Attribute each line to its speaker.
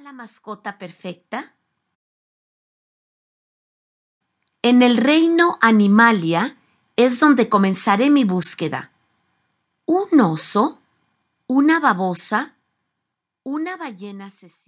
Speaker 1: la mascota perfecta? En el reino Animalia es donde comenzaré mi búsqueda. ¿Un oso? ¿Una babosa? ¿Una ballena asesina?